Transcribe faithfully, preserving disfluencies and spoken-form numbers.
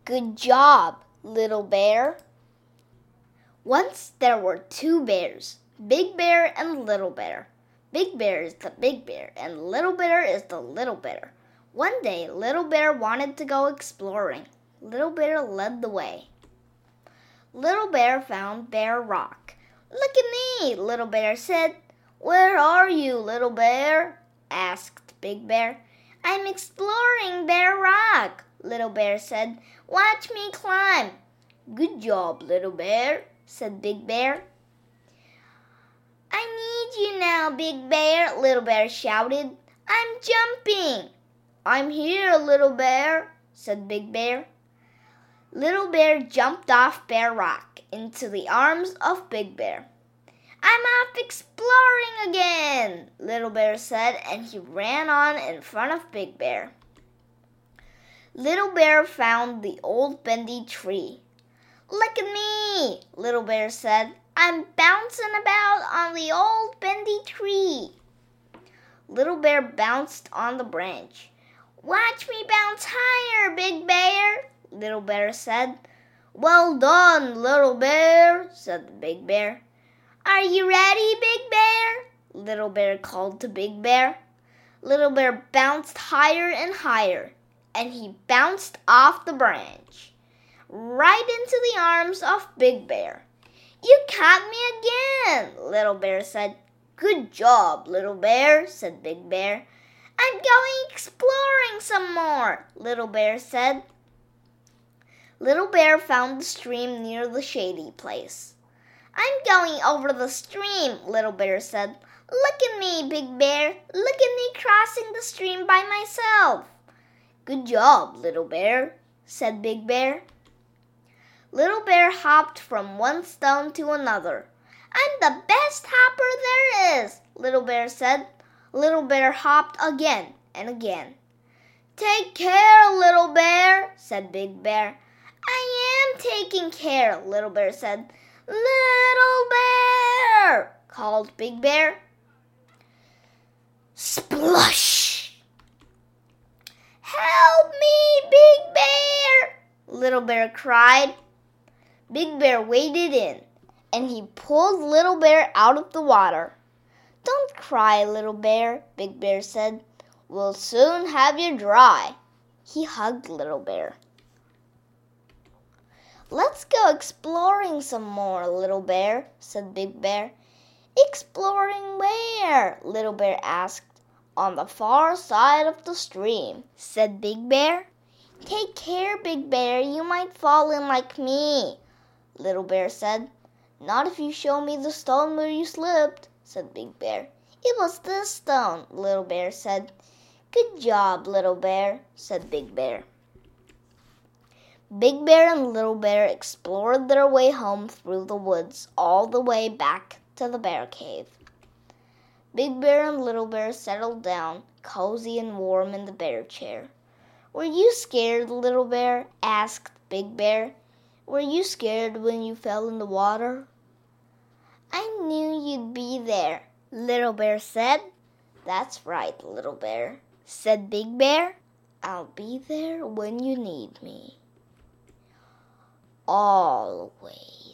Good job, little bear. Once there were two bears, Big Bear and Little Bear. Big Bear is the big bear and Little Bear is the little bear. One day, Little Bear wanted to go exploring. Little Bear led the way. Little Bear found Bear Rock. Look at me, Little Bear said. Where are you, Little Bear? Asked Big Bear. I'm exploring Bear Rock, Little Bear said. Watch me climb. Good job, Little Bear, said Big Bear. I need you now, Big Bear, Little Bear shouted. I'm jumping. I'm here, Little Bear, said Big Bear. Little Bear jumped off Bear Rock into the arms of Big Bear. I'm off exploring again, Little Bear said, and he ran on in front of Big Bear. Little Bear found the old bendy tree. Look at me, Little Bear said. I'm bouncing about on the old bendy tree. Little Bear bounced on the branch. Watch me bounce higher, Big Bear, Little Bear said. Well done, Little Bear, said the Big Bear. Are you ready, Big Bear? Little Bear called to Big Bear. Little Bear bounced higher and higher, and he bounced off the branch, right into the arms of Big Bear. You caught me again, Little Bear said. Good job, Little Bear, said Big Bear. I'm going exploring some more, Little Bear said. Little Bear found the stream near the shady place. I'm going over the stream, Little Bear said. Look at me, Big Bear. Look at me crossing the stream by myself. Good job, Little Bear, said Big Bear. Little Bear hopped from one stone to another. I'm the best hopper there is, Little Bear said. Little Bear hopped again and again. Take care, Little Bear, said Big Bear. I am taking care, Little Bear said. Little Bear, called Big Bear. Splush! Help me, Big Bear, Little Bear cried. Big Bear waded in, and he pulled Little Bear out of the water. Don't cry, Little Bear, Big Bear said. We'll soon have you dry. He hugged Little Bear. Let's go exploring some more, Little Bear, said Big Bear. Exploring where? Little Bear asked. On the far side of the stream, said Big Bear. Take care, Big Bear, you might fall in like me, Little Bear said. Not if you show me the stone where you slipped, said Big Bear. It was this stone, Little Bear said. Good job, Little Bear, said Big Bear. Big Bear and Little Bear explored their way home through the woods all the way back to the bear cave. Big Bear and Little Bear settled down, cozy and warm in the bear chair. Were you scared, Little Bear? Asked Big Bear. Were you scared when you fell in the water? I knew you'd be there, Little Bear said. That's right, Little Bear, said Big Bear. I'll be there when you need me. Always.